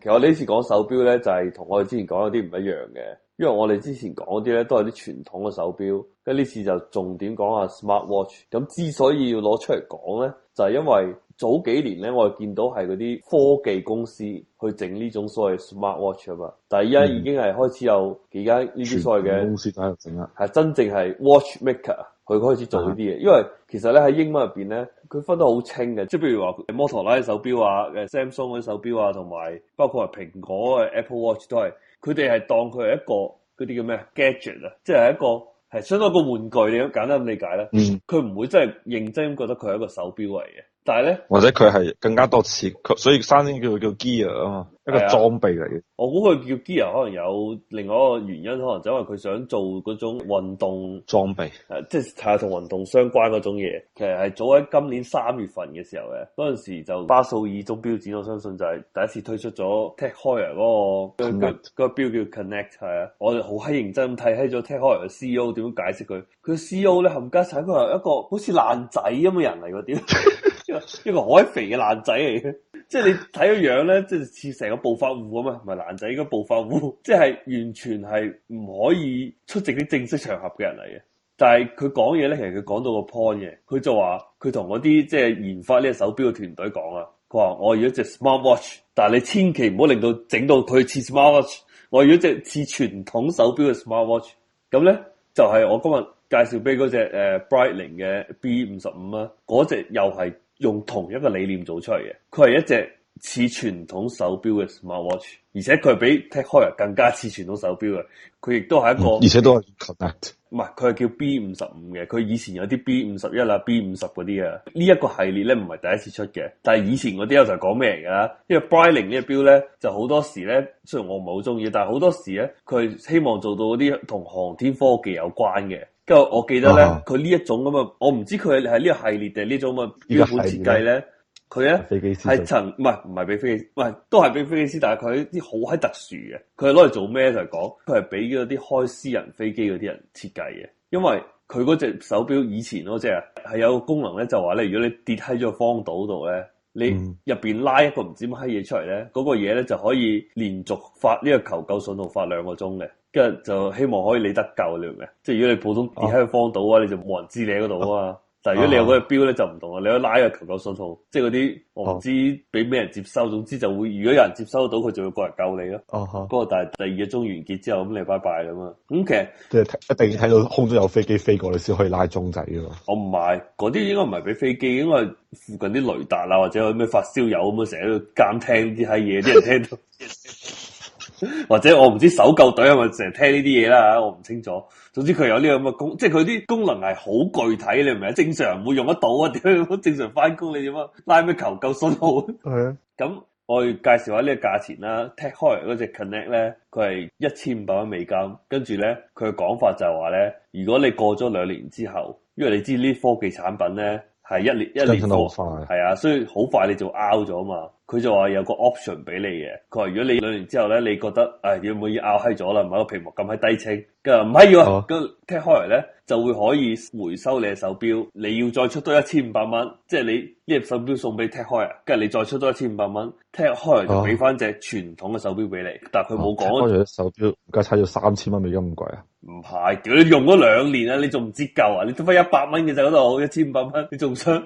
其實我呢次講手錶咧，就係同我哋之前講嗰啲唔一樣嘅，因為我哋之前講嗰啲咧都係啲傳統嘅手錶，跟呢次就重點講下 smart watch。咁之所以要攞出嚟講咧，就係因為早幾年咧，我哋見到係嗰啲科技公司去整呢種所謂 smart watch 啊嘛，但係而家已經係開始有幾間呢啲所謂嘅公司喺度整啦， 係真正係 watchmaker 佢開始做呢啲嘢，因為其實咧喺英文入邊咧，佢分得好清嘅，即係譬如話摩托羅拉嘅手錶啊、Samsung 嗰啲手錶啊，同埋包括係蘋果嘅 Apple Watch 都係，佢哋係當佢係一個嗰啲叫咩 gadget 啊，即係一個係相當一個玩具，你咁簡單咁理解咧。佢唔會真係認真咁覺得佢係一個手錶嚟嘅。但係咧， 或者佢係更加多似，所以生先叫 gear 啊嘛，一個裝備嚟嘅。 我估佢叫 gear 可能有另外一個原因，可能就因為佢想做嗰種運動裝備， 即係同運動相關嗰種嘢。其實係早喺今年3月份嘅時候嘅，嗰陣時就巴素爾鐘錶展，我相信就係第一次推出咗 Tag Heuer 嗰個錶叫 Connect 係啊，我哋好閪認真咁睇喺咗 Tag Heuer 嘅 CEO 點樣解釋佢，佢 CEO 咧冚家鏟，佢係一個好似爛仔咁嘅人嚟嗰啲。一個海肥嘅爛仔嚟嘅，即係你睇個樣咧，即係似成個暴發戶咁啊，唔係爛仔，應該暴發戶，即係完全係唔可以出席啲正式場合嘅人嚟嘅。但係佢講嘢咧，其實佢講到個 point 嘅，佢就話佢同嗰啲即係研發呢個手錶嘅團隊講啊，佢話我要一隻 smart watch，但係你千祈唔好令到整到佢似 smart watch，我要一隻似傳統手錶嘅 smart watch。咁咧就係我今日介紹俾嗰隻Breitling 嘅 B55啊，嗰隻又係用同一個理念做出嚟嘅，佢係一隻似傳統手錶嘅 smart watch， 而且佢係比 Tag Heuer 更加似傳統手錶嘅，佢亦都係一個， 而且都係 connect， 唔係佢係叫 B55嘅，佢以前有啲 B51啦、B50嗰啲啊，呢一個系列咧唔係第一次出嘅，但係以前嗰啲我就講咩嚟㗎啦？因為 Breitling 呢個錶咧就好多時咧，雖然我唔係好中意，但係好多時咧佢係希望做到嗰啲同航天科技有關嘅。跟住我記得咧，佢呢一種咁啊，我唔知佢係呢個系列定係呢種咁嘅標本設計咧。佢咧係曾唔係俾飛機師，唔係都係俾飛機師，但係佢啲好閪特殊嘅。佢係攞嚟做咩就係講，佢係俾嗰啲開私人飛機嗰啲人設計嘅。因為佢嗰隻手錶以前嗰隻啊係有個功能咧，就話咧，如果你跌喺咗個荒島度咧，你入邊拉一個唔知乜閪嘢出嚟咧，嗰個嘢咧就可以連續發呢個求救信號發2個鐘嘅。跟住就希望可以你得救，你明唔明？即係如果你普通跌喺個荒島啊，你就冇人知你喺嗰度啊嘛。但係如果你有嗰隻錶咧就唔同啦，你可以拉個求救信號，即係嗰啲我唔知俾咩人接收，總之就會如果有人接收到佢就會過嚟救你咯。不過但係第2個鐘完結之後咁你拜拜啦嘛。咁其實即係一定要睇到空中有飛機飛過你先可以拉鐘仔噶嘛。 我唔係嗰啲應該唔係俾飛機，應該係附近啲雷達啊或者有咩發燒友咁樣成日喺度監聽啲閪嘢，啲人聽到。或者我唔知搜救隊係咪成日聽呢啲嘢啦，我唔清楚。總之佢有呢個咁嘅功，即係佢啲功能係好具體，你明唔明？正常人唔會用得到啊！點樣正常翻工你點啊？拉咩求救信號？係啊。咁我介紹下呢個價錢啦。Tag Heuer 嗰隻 Connect 咧，佢係1500蚊美金。跟住咧，佢嘅講法就係話咧，如果你過咗2年之後，因為你知呢啲科技產品咧係一年貨，係啊，所以好快你就 out 咗嘛。佢就話有個 option 俾你嘅，佢話如果你2年之後咧，你覺得要唔可以 out 閪咗啦，唔係個屏幕咁閪低清，佢話唔係喎，咁 Tag Heuer 咧就會可以回收你嘅手錶，你要再出多1500蚊，即係你呢隻手錶送俾 Tag Heuer，跟住你再出多1500蚊，Tag Heuer就俾翻隻傳統嘅手錶俾你，但係佢冇講。 Tag Heuer 手錶而家差咗3000蚊美金咁貴啊？ 唔係，屌你用咗2年啊，你仲唔知夠啊？你得翻100蚊嘅就嗰度1500蚊，你仲想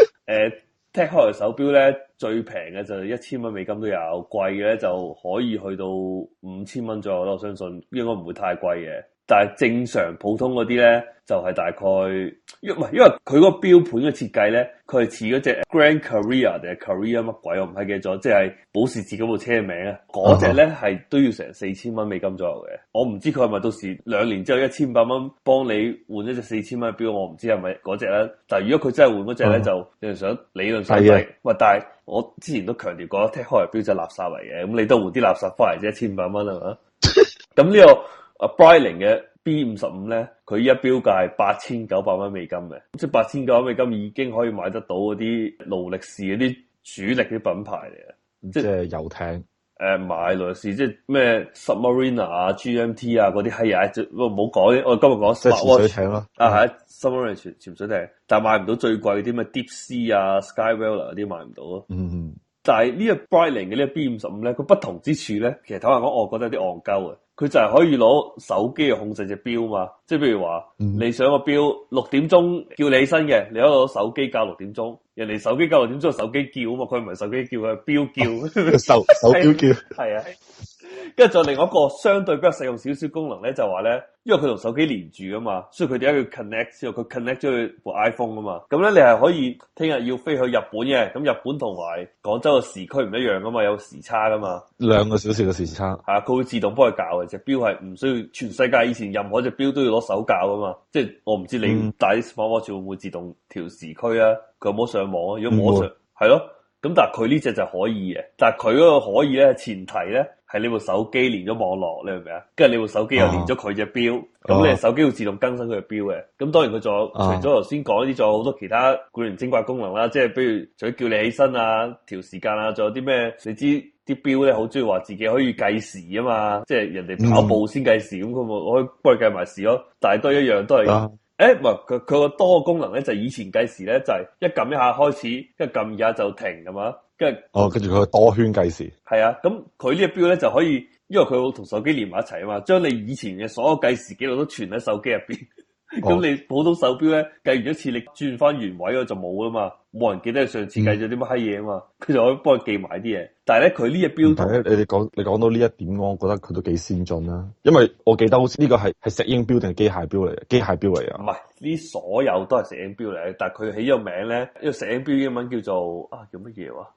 Tag Heuer手錶咧最平嘅就1000蚊美金都有，貴嘅咧就可以去到5000蚊左右咯。我相信應該唔會太貴嘅，但係正常普通嗰啲咧就係大概，因為佢嗰個錶盤嘅設計咧，佢係似嗰隻 Grand Carrier 定係 Carrier 乜鬼我唔係記得咗，即係保時捷嗰部車名啊，嗰隻咧係都要成4000蚊美金左右嘅。我唔知佢係咪到時2年之後1500蚊幫你換一隻4000蚊嘅錶，我唔知係咪嗰隻咧。但係如果佢真係換嗰隻咧，就你係想理論上係，喂，但係我之前都強調過 Tag Heuer錶就係垃圾嚟嘅，咁你都換啲垃圾翻嚟啫，1500蚊係嘛？咁呢個Breitling嘅B55咧，佢依家標價係8900蚊美金嘅，即係8900蚊美金已經可以買得到嗰啲勞力士嗰啲主力啲品牌嚟嘅， 即係遊艇。 買勞力士即係咩 Submariner 啊、GMT 啊嗰啲係啊，唔好講，我今日講 Smart Watch 潛水艇咯。 係 Submariner 潛水艇，但係買唔到最貴嗰啲咩 Deep Sea 啊、Skywhaler 嗰啲買唔到咯。 但係呢個 Breitling 嘅呢個 B55咧，佢不同之處咧，其實坦白講，我覺得有啲戇鳩啊。佢就係可以攞手機去控制隻錶嘛，即係譬如話，你想個錶6點鐘叫你起身嘅，你可以攞手機校6點鐘，人哋手機校6點鐘，手機叫啊嘛，佢唔係手機叫，佢係錶叫， 手錶叫， 係啊。跟住再另外一個相對比較實用少少功能咧，就話咧，因為佢同手機連住啊嘛，所以佢點解要 connect 之後，佢 connect 咗去部 iPhone 啊嘛。咁咧，你係可以聽日要飛去日本嘅，咁日本同埋廣州嘅時區唔一樣噶嘛，有時差噶嘛 2個小時嘅時差。 係啊，佢會自動幫佢校嘅，隻錶係唔需要全世界以前任何隻錶都要攞手校啊嘛。即係我唔知你戴啲 smartwatch 會唔會自動調時區啊？佢有冇上網啊？如果冇上，係咯。咁但係佢呢隻就可以嘅，但係佢嗰個可以咧，前提咧係你部手機連咗網絡，你明唔明啊？跟住你部手機又連咗佢隻錶，咁你手機會自動更新佢嘅錶嘅。咁當然佢仲有除咗頭先講啲，仲有好多其他古靈精怪功能啦，即係比如除咗叫你起身啊、調時間啊，仲有啲咩？你知啲錶咧好中意話自己可以計時啊嘛，即係人哋跑步先計時，咁佢咪我可以幫佢計埋時咯。但係都一樣都係。誒，唔係佢個多個功能咧，就係以前計時咧，就係一撳一下開始，跟住撳二下就停，係嘛？跟住跟住佢多圈計時。係啊，咁佢呢個錶咧就可以，因為佢同手機連埋一齊啊嘛，將你以前嘅所有計時記錄都存喺手機入邊。咁你普通手錶咧計完一次，你轉翻原位嗰就冇啦嘛，冇人記得你上次計咗啲乜閪嘢啊嘛，佢就可以幫你記埋啲嘢。但係咧佢呢隻錶， 你講到呢一點，我覺得佢都幾先進啦。因為我記得好似呢個係石英錶定係機械錶嚟嘅？機械錶嚟啊？ 唔係，呢所有都係石英錶嚟嘅，但係佢起咗名咧，呢個石英錶英文叫做叫乜嘢話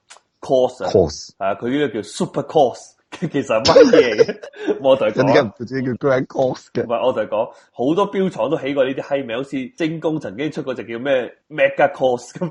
Quartz 啊，佢呢個叫 Super Quartz。其實係乜嘢嘅？我同你講，點解唔知叫 Grand Quartz 嘅？ 唔係，我同你講，好多錶廠都起過呢啲閪名，好似精工曾經出過隻叫咩 Mega Quartz 咁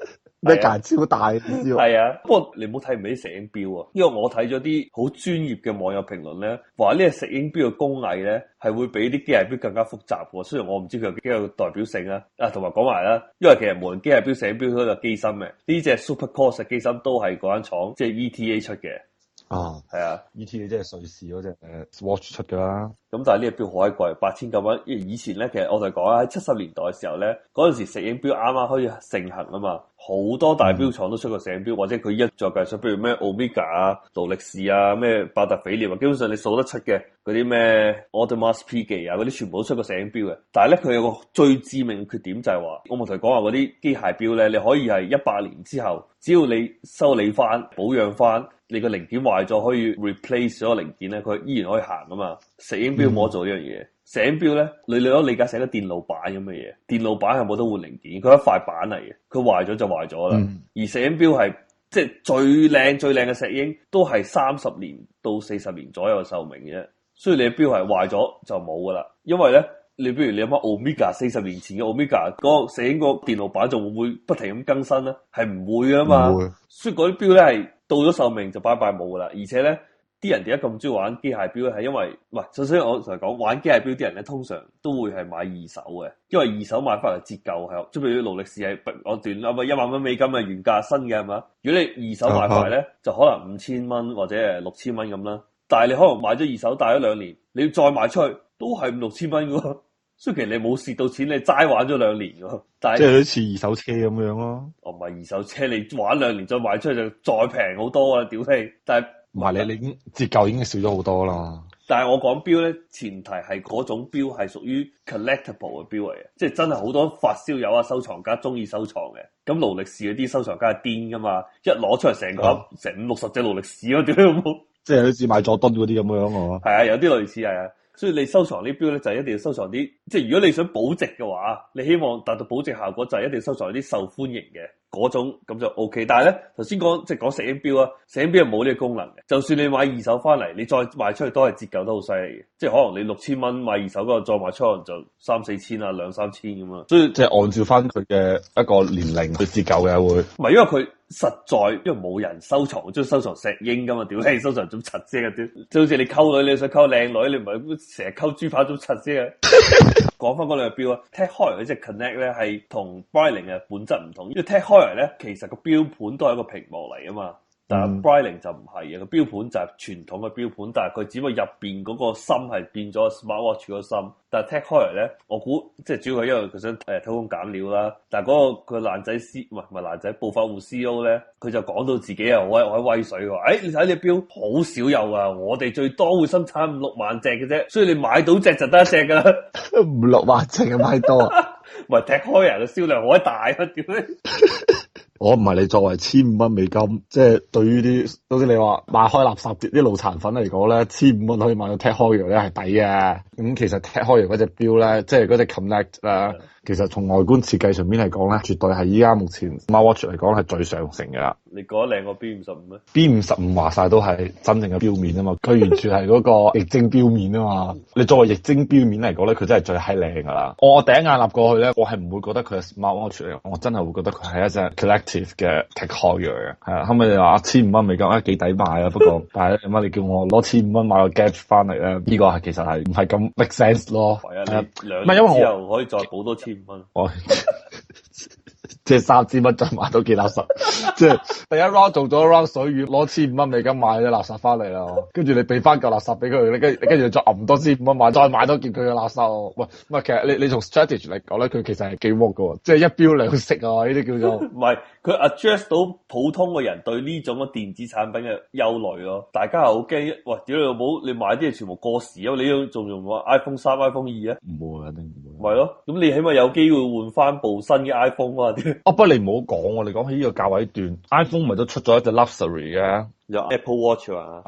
，Mega 超大， 係啊。不過你唔好睇唔起石英錶啊，因為我睇咗啲好專業嘅網友評論咧，話呢個石英錶嘅工藝咧係會比啲機械錶更加複雜嘅。雖然我唔知佢有幾有代表性啊，同埋講埋啦，因為其實無論機械錶、石英錶都有機芯嘅，呢隻 Super Quartz 嘅機芯都係嗰間廠即係 ETA 出嘅。係啊 ，ETA 即係瑞士嗰隻Swatch 出噶啦。 咁但係呢隻錶好鬼貴，8900。因為以前咧，其實我哋講啦，喺70年代嘅時候咧，嗰陣時石英錶啱啱開始盛行啊嘛，好多大錶廠都出過石英錶，或者佢一再計出，譬如咩 Omega 啊、勞力士啊、咩百達翡麗啊，基本上你數得出嘅嗰啲咩 Audemars Piguet 啊，嗰啲全部都出過石英錶嘅。但係咧，佢有個最致命嘅缺點就係話，我冇同你講話嗰啲機械錶咧，你可以係100年之後，只要你修理翻、保養翻。你個零件壞咗可以 replace 咗個零件咧，佢依然可以行啊嘛。石英錶冇得做呢樣嘢。石英錶咧，你可理解成一個電路板咁嘅嘢。電路板係冇得換零件，佢一塊板嚟嘅，佢壞咗就壞咗啦。而石英錶係即係最靚嘅石英，都係30年到40年左右嘅壽命嘅啫。所以你嘅錶係壞咗就冇噶啦。因為咧，你比如你諗下 Omega 40年前嘅 Omega 嗰個石英個電路板仲會唔會不停咁更新咧？係唔會噶嘛。所以嗰啲錶咧係。到咗壽命就拜拜冇噶啦，而且咧啲人點解咁中意玩機械錶咧？係因為首先我同你講玩機械錶啲人咧，通常都會係買二手嘅，因為二手買翻嚟折舊係，即係譬如勞力士係我斷啦，1萬蚊美金嘅原價新嘅係嘛？如果你二手買翻嚟咧，就可能5000蚊或者係6000蚊咁啦。但係你可能買咗二手戴咗2年，你要再賣出去都係5、6千蚊嘅喎。雖然你冇蝕到錢，你齋玩咗2年喎，但係即係好似二手車咁樣咯。 唔係二手車，你玩2年再賣出去就再平好多啊！屌你！但係唔係你已經折舊已經少咗好多啦。 但係我講錶咧，前提係嗰種錶係屬於 collectible 嘅錶嚟嘅，即係真係好多發燒友啊、收藏家中意收藏嘅。咁勞力士嗰啲收藏家係癲噶嘛，一攞出嚟成盒成50-60隻勞力士咯，屌你老母！即係好似買佐敦嗰啲咁樣喎。 係啊，有啲類似係啊。所以你收藏啲錶咧，就係一定要收藏啲，即係如果你想保值嘅話，你希望達到保值效果，就係一定要收藏啲受歡迎嘅嗰種，咁就 OK。但係咧，頭先講即係講石英錶啊，石英錶係冇呢個功能嘅。就算你買二手翻嚟，你再賣出去都係折舊得好犀利嘅。即係可能你6000蚊買二手嗰個，再賣出去就3-4千啊，2-3千咁啊。所以即係按照翻佢嘅一個年齡去折舊嘅會， 唔係因為佢。實在，因為冇人收藏，中意收藏石英噶嘛？屌你收藏種柒啫嘅，屌！即係好似你溝女，你想溝靚女，你唔係成日溝豬扒種柒啫嘅。講翻嗰兩隻錶啊 Tag Heuer 嗰隻 Connect 咧係同 Breitling 嘅本質唔同，因為 Tag Heuer 咧其實個錶盤都係一個屏幕嚟啊嘛。 但係 Breitling 就唔係嘅，個標盤就係傳統嘅標盤，但係佢只不過入邊嗰個芯係變咗 smartwatch 嗰個芯。但係 Tag Heuer 咧，我估即係主要係因為佢想偷工減料啦。但係嗰個佢爛仔 C 唔係爛仔暴發戶 CEO 咧，佢就講到自己係好威水喎。你睇呢個標好少有啊，我哋最多會生產5-6萬隻嘅啫，所以你買到隻就得一隻㗎啦。 5-6萬隻咁閪多啊！ 唔係 Tag Heuer嘅銷量好大啊！屌你！ 我唔係你作為$1,500，即係對於啲好似你話賣開垃圾啲腦殘粉嚟講咧，$1,500可以買到 Tag Heuer咧係抵嘅。咁其實 Tag Heuer嗰隻錶咧，即係嗰隻 Connect 啦，其實從外觀設計上面嚟講咧，絕對係依家目前 Smartwatch 嚟講係最上乘嘅啦。 你覺得靚過 B55咩 ？B55話晒都係真正嘅錶面啊嘛，佢完全係嗰個液晶錶面啊嘛。你作為液晶錶面嚟講咧，佢真係最閪靚噶啦。我第一眼立過去咧，我係唔會覺得佢係 Smartwatch 嚟，我真係會覺得佢係一隻 Collective 嘅 Tag Heuer 嘅。係啊，後尾你話$1,500幾抵買啊，不過但係乜你叫我攞$1,500買個 Gadget 翻嚟咧，呢個係其實係唔係咁 make sense 咯。 係啊，你2年之後可以再補多$1,500。 即係$3,000再買到件垃圾，即係第一 round 做咗 round 水魚，攞$1,500買啲垃圾翻嚟啦，跟住你俾翻嚿垃圾俾佢，你跟住再揞多$1,500買，再買多件佢嘅垃圾。喂，唔係其實你從 strategy 嚟講咧，佢其實係幾 work 噶喎，即係一標兩食啊，呢啲叫做。 唔係，佢 address 到普通嘅人對呢種嘅電子產品嘅憂慮咯。大家係好驚，喂，屌你老母，你買啲嘢全部過時啊！你仲用 iPhone 3、iPhone 2啊？ 唔會，一定唔會。 咪咯，咁你起碼有機會換翻部新嘅 iPhone 啊！ 不過你唔好講喎，你講起呢個價位段 ，iPhone 咪都出咗一隻 luxury 嘅， 有 Apple Watch 啊，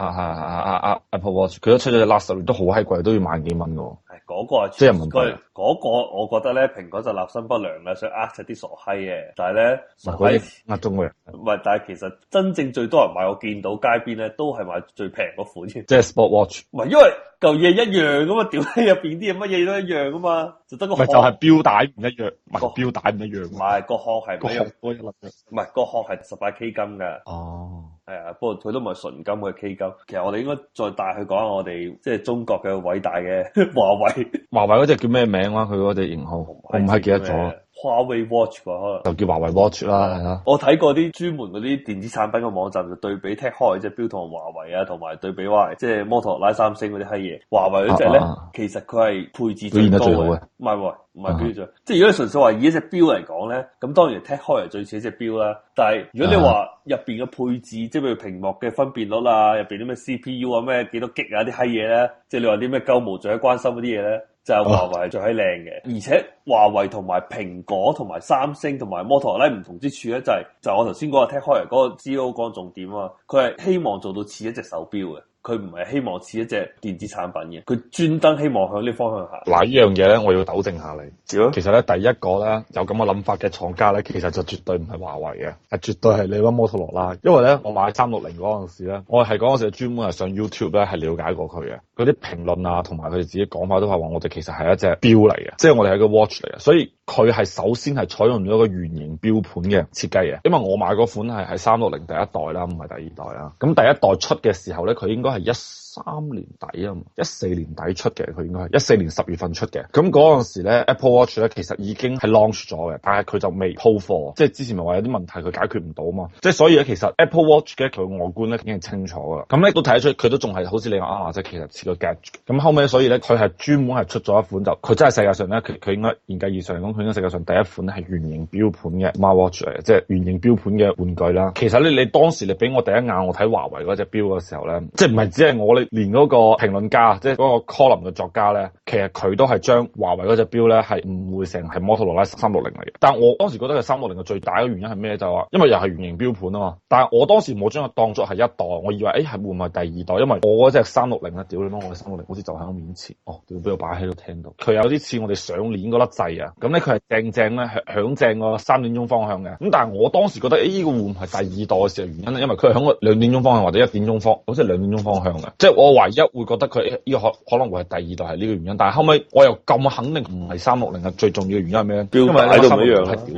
Apple Watch，佢都出咗隻 luxury，都好閪貴，都要萬幾蚊嘅喎。 嗰個係即係人民幣。 嗰個我覺得咧，蘋果就立心不良啦，想呃實啲傻閪嘅。但係咧，傻閪呃中國人。 唔係，但係其實真正最多人買，我見到街邊咧都係買最平嗰款嘅。 即係 Sport Watch。 唔係，因為嚿嘢一樣噶嘛，屌喺入邊啲嘢乜嘢都一樣噶嘛，就得個殼。 咪就係錶帶唔一樣，唔係錶帶唔一樣。 唔係個殼係唔一樣， 多一粒嘅。 唔係個殼係18K 金嘅。 哦。 係啊，不過佢都唔係純金嘅 K 金。其實我哋應該再帶去講下我哋即係中國嘅偉大嘅華為。 華為嗰隻叫咩名啊？佢嗰隻型號我唔係記得咗。 華為 Watch 啩，可能就叫華為 Watch 啦，係啦。 我睇過啲專門嗰啲電子產品嘅網站，就對比 Tag Heuer 隻錶同華為啊，同埋對比話即係摩托羅拉、三星嗰啲閪嘢。華為嗰隻咧，其實佢係配置最高嘅。唔係唔係標準。即係如果你純粹話以一隻錶嚟講咧，咁當然 Tag Heuer 最似一隻錶啦。但係如果你話入邊嘅配置，即係譬如屏幕嘅分辨率啊，入邊啲咩 CPU 啊，咩幾多 G 啊啲閪嘢咧，即係你話啲咩鳩毛最關心嗰啲嘢咧。就係華為係最閪靚嘅，而且華為同埋蘋果同埋三星同埋摩托羅拉唔同之處咧，就係我頭先講嘅 Tag Heuer 嗰個 CEO 講重點啊，佢係希望做到似一隻手錶嘅。佢唔係希望似一隻電子產品嘅，佢專登希望向呢方向行。 嗱，呢樣嘢咧，我要糾正下你。 其實咧，第一個咧有咁嘅諗法嘅廠家咧，其實就絕對唔係華為嘅，係絕對係你揾摩托羅拉。因為咧，我買360嗰陣時咧，我係嗰陣時專門係上 YouTube 咧係了解過佢嘅，嗰啲評論啊，同埋佢哋自己講法都係話我哋其實係一隻錶嚟嘅，即係我哋係一個 watch 嚟嘅，所以佢係首先係採用咗一個圓形錶盤嘅設計嘅。因為我買嗰款係360第一代啦，唔係第二代啦。咁第一代出嘅時候咧，佢應該係13年底啊，14年底出嘅，佢應該係14年10月份出嘅。咁嗰陣時咧 ，Apple Watch 咧其實已經係 launch 咗嘅，但係佢就未鋪貨，即係之前咪話有啲問題佢解決唔到嘛。即係所以咧，其實 Apple Watch 嘅佢外觀咧已經係清楚噶啦。咁咧都睇得出佢都仲係好似你話即係其實似個 gadget。咁後尾所以咧，佢係專門係出咗一款就佢真係世界上咧，佢應該嚴格意義上嚟講，佢應該世界上第一款咧係圓形錶盤嘅 Smart Watch 嚟嘅，即係圓形錶盤嘅玩具啦。其實咧，你當時你俾我第一眼我睇華為嗰隻錶嘅時候咧，即係唔係只係我連嗰個評論家，即係嗰個 column 嘅作家咧，其實佢都係將華為嗰隻錶咧係誤會成係摩托羅拉360嚟嘅。但係我當時覺得佢360嘅最大嘅原因係咩？就係話因為又係圓形錶盤啊嘛。但係我當時冇將佢當作係一代，我以為係會唔係第二代？因為我嗰隻360啊，屌你媽！我嘅360好似就喺我面前，屌俾我擺喺度聽到。佢有啲似我哋上鏈嗰粒掣啊，咁咧佢係正咧響正個3點鐘方向嘅。咁但係我當時覺得呢個會唔係第二代嘅時候原因咧？因為佢係響個2點鐘方向或者1點鐘方，好似係2點鐘方向嘅。即係我唯一會覺得佢呢個可能會係第二代係呢個原因。但係後尾我又咁肯定唔係360嘅最重要嘅原因係咩？ 因為喺度唔一樣係屌閪。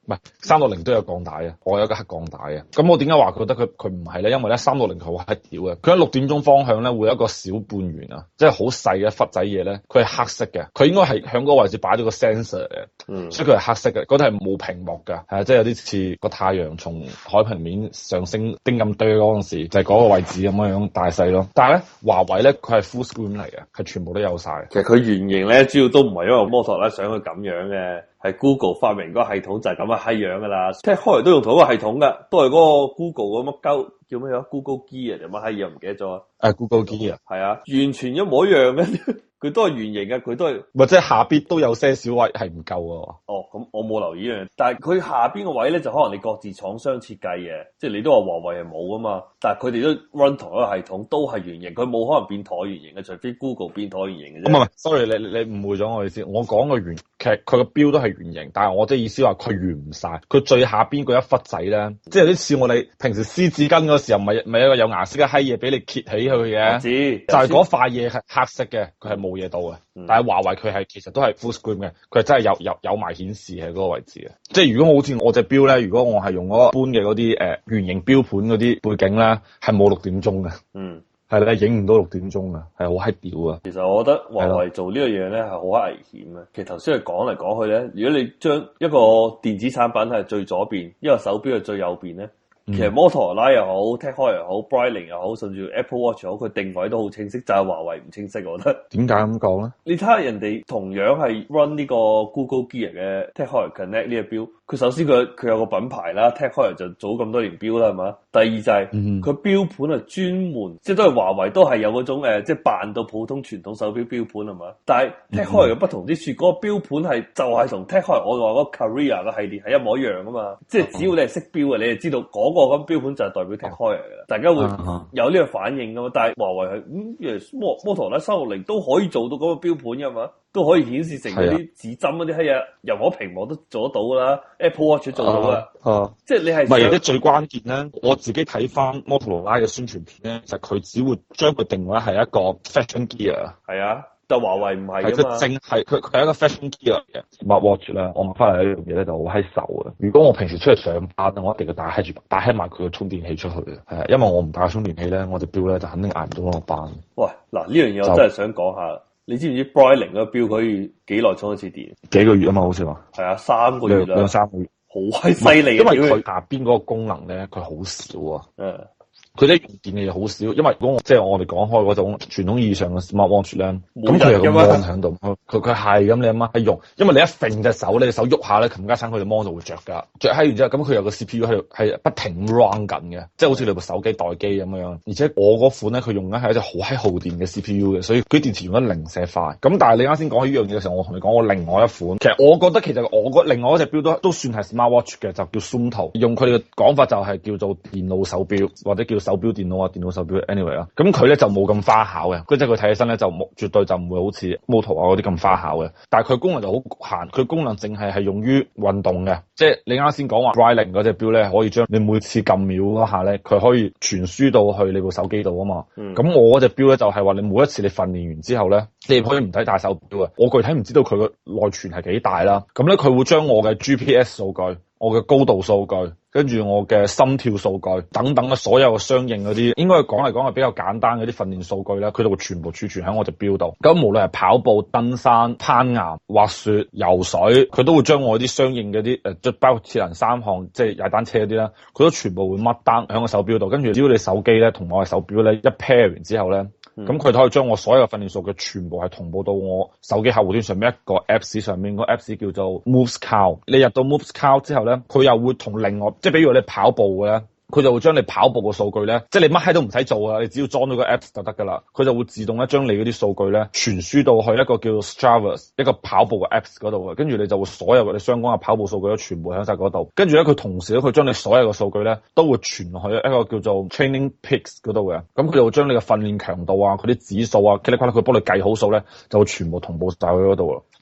唔係360都有鋼帶嘅，我有個黑鋼帶嘅。咁我點解話覺得佢唔係咧？因為咧360佢好閪屌嘅，佢喺6點鐘方向咧會有一個小半圓啊，即係好細嘅忽仔嘢咧，佢係黑色嘅，佢應該係響嗰個位置擺咗個 sensor 嘅，所以佢係黑色嘅，嗰度係冇屏幕㗎，係啊，即係有啲似個太陽從海平面上升丁咁多嗰陣時，就係嗰個位置咁樣大細咯。但係咧華為咧佢係 full screen 嚟嘅，係全部都有晒。 其實佢原型咧主要都唔係因為摩托咧想佢咁樣嘅。係 Google 發明嗰個系統就係咁嘅閪樣噶啦，即係開嚟都用同一個系統噶，都係嗰個 Google 嗰乜鳩叫咩啊 ？Google Gear 定乜閪嘢唔記得咗啊 ？Google Gear 係啊，完全一模一樣嘅，佢都係圓形嘅，佢都係， 或者下邊都有些少位係唔夠嘅。 哦，咁我冇留意呢樣，但係佢下邊個位咧就可能你各自廠商設計嘅，即係你都話華為係冇噶嘛，但係佢哋都 run 同一個系統，都係圓形，佢冇可能變橢圓形嘅，除非 Google 變橢圓形嘅啫。 唔係，sorry，你誤會咗我意思，我講嘅圓，其實佢個標都係圓形，但係我即係意思話佢圓唔晒，佢最下邊嗰一忽仔咧，即係有啲似我哋平時撕紙巾嗰時候，咪一個有顏色嘅閪嘢俾你揭起佢嘅，就係嗰塊嘢係黑色嘅，佢係冇嘢到嘅。但係華為佢係其實都係 full screen 嘅，佢係真係有埋顯示喺嗰個位置嘅。即係如果好似我隻錶咧，如果我係用嗰個般嘅嗰啲圓形錶盤嗰啲背景咧，係冇6點鐘嘅。係咧，影唔到6點鐘啊，係好閪屌啊！ 其實我覺得華為做呢個嘢咧係好危險啊。其實頭先佢講嚟講去咧，如果你將一個電子產品係最左邊，一個手錶係最右邊咧。其實摩托羅拉又好 Tech Heuer 又好 Breitling 又好，甚至 Apple Watch 又好，佢定位都好清晰，就係華為唔清晰。我覺得點解咁講咧？ 你睇下人哋同樣係 run 呢個 Google Gear 嘅 Tech Heuer Connect 呢個錶，佢首先佢有個品牌啦 ，Tech Heuer 就早咁多年錶啦，係嘛？第二就係佢錶盤係專門，即係都係華為都係有嗰種即係扮到普通傳統手錶錶盤係嘛？但係 Tech Heuer 嘅不同之處，嗰個錶盤係就係同 Tech Heuer 我話嗰個 Carrera 嘅系列係一模一樣噶嘛，即係只要你係識錶嘅，你就知道嗰個咁錶盤就係代表 Tech Heuer 嘅啦，大家會有呢個反應噶嘛。但係華為係摩托羅拉360都可以做到嗰個錶盤噶嘛，都可以顯示成嗰啲指針嗰啲閪嘢，任何屏幕都做得到噶啦 ，Apple Watch 做到噶，即係你係唔係？而且最關鍵咧，我自己睇翻摩托羅拉嘅宣傳片咧，就佢只會將佢定位係一個 fashion gear。 係啊，但華為唔係啊嘛。 正係佢係一個 fashion gear 嘅 smart watch 咧。我買翻嚟呢樣嘢咧就好閪愁啊！如果我平時出去上班咧，我一定要帶喺埋佢個充電器出去嘅。係啊，因為我唔帶充電器咧，我隻錶咧就肯定捱唔到落班。 喂，嗱呢樣嘢我真係想講下。你知唔知 Breitling 嗰個錶可以幾耐充一次電？ 幾個月啊嘛，好似話。係啊，3個月啦。 兩3個月。 好閪犀利。 因為佢下邊嗰個功能咧，佢好少啊。佢啲用電嘅嘢好少，因為如果即係我哋講開嗰種傳統意義上嘅 smart watch 咧，咁佢有個 mon 喺度，佢係咁你阿媽喺用，因為你一揈隻手，你隻手喐下咧，冚家鏟佢隻 mon 就會着噶，着閪完之後，咁佢有個 CPU 喺度係不停 run 緊嘅，即係好似你部手機待機咁樣。而且我嗰款咧，佢用緊係一隻好閪耗電嘅 CPU 嘅，所以佢電池用得零舍快。咁但係你啱先講呢樣嘢嘅時候，我同你講我另外一款，其實我覺得其實我另外一隻錶都算係 smart watch 嘅，就叫 Suunto，用佢哋嘅講法就係叫做電腦手錶或者叫手錶電腦啊。電腦手錶 anyway 啊，咁佢咧就冇咁花巧嘅，即係佢睇起身咧就絕對就唔會好似 Moto 啊嗰啲咁花巧嘅，但係佢功能就好局限，佢功能淨係用於運動嘅，即係你啱先講話 Breitling 嗰隻錶咧可以將你每次撳秒嗰下咧，佢可以傳輸到去你部手機度啊嘛，咁我嗰隻錶咧就係話你每一次你訓練完之後咧，你可以唔睇帶手錶啊，我具體唔知道佢個內存係幾大啦，咁咧佢會將我嘅 GPS 數據、我嘅高度數據，跟住我嘅心跳數據等等嘅所有嘅相應嗰啲，應該講嚟講係比較簡單嗰啲訓練數據咧，佢就會全部儲存喺我隻錶度。咁無論係跑步、登山、攀岩、滑雪、游水，佢都會將我啲相應嗰啲即包括智能3項，即係踩單車嗰啲啦，佢都全部會 mark down 喺個手錶度。跟住只要你手機咧同我嘅手錶咧一 pair 完之後咧，咁佢就可以將我所有嘅訓練數據全部係同步到我手機客戶端上面一個 Apps 上面，個 Apps 叫做 MovesCow。你入到 MovesCow 之後咧，佢又會同另外，即係比如你跑步嘅咧，佢就會將你跑步嘅數據咧，即係你乜閪都唔使做啊，你只要裝到個 Apps 就得噶啦，佢就會自動咧將你嗰啲數據咧傳輸到去一個叫做 Strava 一個跑步嘅 Apps 嗰度嘅，跟住你就會所有嘅你相關嘅跑步數據都全部喺晒嗰度，跟住咧佢同時咧佢將你所有嘅數據咧都會傳去一個叫做 Training Peaks 嗰度嘅，咁佢就會將你嘅訓練強度啊、佢啲指數啊，噼里啪啦佢幫你計好數咧，就會全部同步晒去嗰度啦。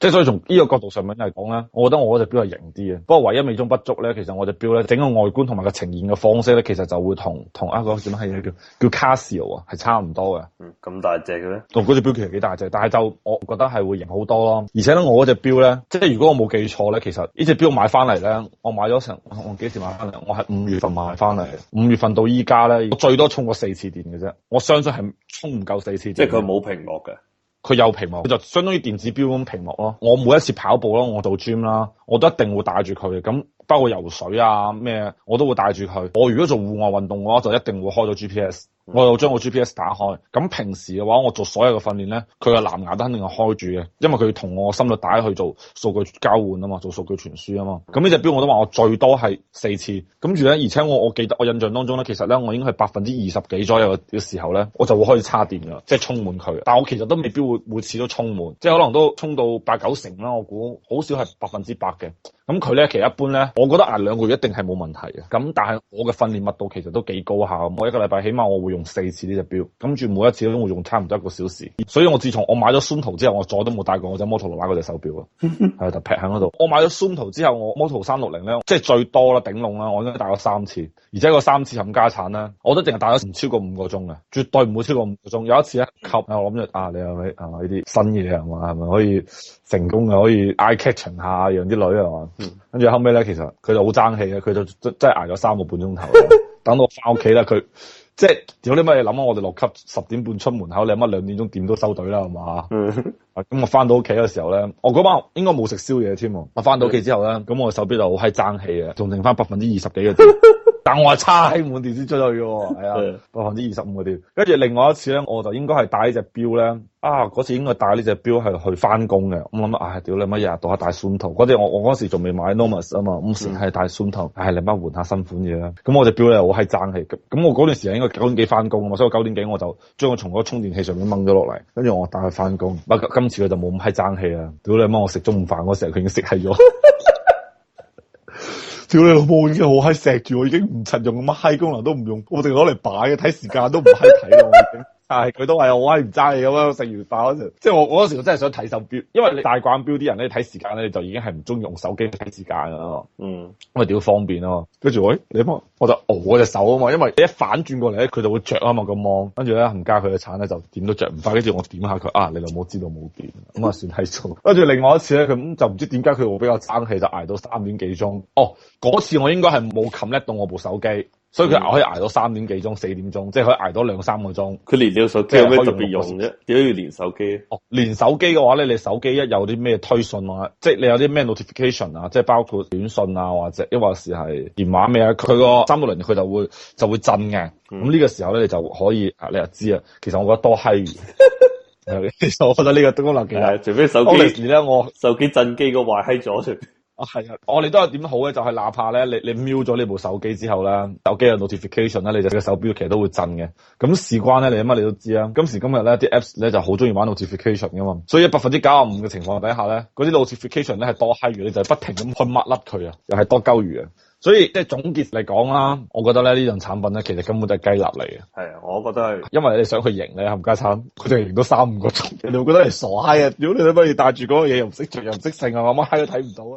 即係所以從呢個角度上面嚟講咧，我覺得我嗰隻錶係型啲嘅。不過唯一美中不足咧，其實我隻錶咧整個外觀同埋個呈現嘅方式咧，其實就會同一個叫乜嘢叫 Casio 啊，係差唔多嘅。 咁大隻嘅咧？ 我嗰隻錶其實幾大隻，但係就我覺得係會型好多咯。而且咧，我嗰隻錶咧，即係如果我冇記錯咧，其實呢隻錶買翻嚟咧，我買咗成我幾時買翻嚟？我係5月份買翻嚟，5月份到依家咧，我最多充過4次電嘅啫。我相信係充唔夠4次電。 即係佢冇屏幕嘅。 佢有屏幕，佢就相當於電子錶咁屏幕咯。我每一次跑步咯，我做 gym 啦，我都一定會帶住佢嘅。咁包括游水啊咩，我都會帶住佢。我如果做戶外運動嘅話，就一定會開咗 GPS。我又將個 GPS 打開。咁平時嘅話，我做所有嘅訓練咧，佢嘅藍牙都肯定係開住嘅，因為佢要同我心率帶去做數據交換啊嘛，做數據傳輸啊嘛。咁呢隻錶我都話我最多係4次。跟住咧，而且我記得我印象當中咧，其實咧我應該係20%幾左右嘅時候咧，我就會開始叉電㗎，即係充滿佢。但係我其實都未必會每次都充滿，即係可能都充到8-9成啦。我估好少係100%嘅。咁佢咧其實一般咧，我覺得捱2個月一定係冇問題嘅。咁但係我嘅訓練密度其實都幾高下，我一個禮拜起碼我會用4次呢隻錶，跟住每一次都會用差唔多1個小時。所以我自從我買咗 Suunto 之後，我再都冇戴過我隻摩托羅拉嗰隻手錶啊，係就劈喺嗰度。我買咗 Suunto 之後，我摩托360咧，即係最多啦頂籠啦，我應該戴過3次，而且個3次冚家產咧，我都淨係戴咗唔超過5個鐘嘅，絕對唔會超過5個鐘。有一次咧，我諗住你係咪呢啲新嘢係嘛？係咪可以成功嘅可以 eye catching 下讓啲女係嘛？跟住後尾咧，其實佢就好爭氣嘅，佢就真係捱咗3個半鐘頭，等到我翻屋企啦，佢即係屌你乜嘢諗啊？我哋落級10點半出門口，你乜2點鐘點都收隊啦係嘛？咁我翻到屋企嘅時候咧，我嗰晚應該冇食宵夜添。我翻到屋企之後咧，咁我手錶就好閪爭氣嘅，仲剩翻20%幾嘅電。但我係差閪滿電先出去嘅，係啊，25%嘅電。跟住另外一次咧，我就應該係帶呢隻錶咧。嗰次應該帶呢隻錶係去翻工嘅。我諗屌你乜日日都係帶 Suunto。嗰陣我嗰時仲未買 Nomos 啊嘛，咁成係帶 Suunto。你乜換下新款嘢啦。咁我隻錶咧好閪爭氣。咁我嗰段時間應該9點幾翻工啊嘛，所以我9點幾我就將佢從嗰個充電器上面掹咗落嚟，跟住我帶佢翻工。今次佢就冇咁閪爭氣啊！屌你媽！我食中午飯嗰時候佢已經熄閪咗。屌你老母已經好閪錫住我，已經唔趁用乜閪功能都唔用，我淨係攞嚟擺嘅，睇時間都唔閪睇咯。已經，但係佢都係好閪唔爭氣咁樣。食完飯嗰時，即係我嗰時我真係想睇手錶，因為你戴慣錶啲人咧睇時間咧，你就已經係唔中意用手機睇時間啦。因為屌方便啊嘛。跟住你我就我隻手啊嘛，因為你一反轉過嚟咧，佢就會着啊嘛個芒。跟住咧唔加佢嘅鏟咧，就點都着唔快。跟住我點下佢你老母知道冇電，咁算係數。跟住另外一次咧，佢就唔知點解佢會比較爭氣，就捱到3點幾鐘。嗰次我應該係冇connect到我部手機，所以佢可以捱到3點幾鐘、4點鐘，即係可以捱多2-3個鐘。佢連咗手機有咩特別用啫？點解要連手機？連手機嘅話咧，你手機一有啲咩推信啊，即係你有啲咩 notification 啊，即係包括短信啊，或者抑或是係電話咩啊，佢個360佢就會震嘅。咁呢個時候咧，你就可以你就知啊。其實我覺得多閪餘。其實我覺得呢個功能其實除非手機咧，我手機震機個壞閪咗。係啊，我哋都係點好咧，就係哪怕咧你瞄咗呢部手機之後咧，手機有 notification 咧，你就個手錶其實都會震嘅。咁事關咧，你乜你都知啊。今時今日咧，啲 apps 咧就好中意玩 notification 噶嘛，所以95%嘅情況底下咧，嗰啲 notification 咧係多閪餘，你就不停咁去抹甩佢啊，又係多鳩餘啊。所以即係總結嚟講啦，我覺得咧呢樣產品咧其實根本都係雞肋嚟嘅。係啊，我覺得係，因為你想佢贏咧冚家鏟，佢就贏到3-5個鐘，你會覺得係傻閪啊！屌你都不如帶住嗰個嘢又唔識着又唔識性啊，乜閪都睇唔到啊！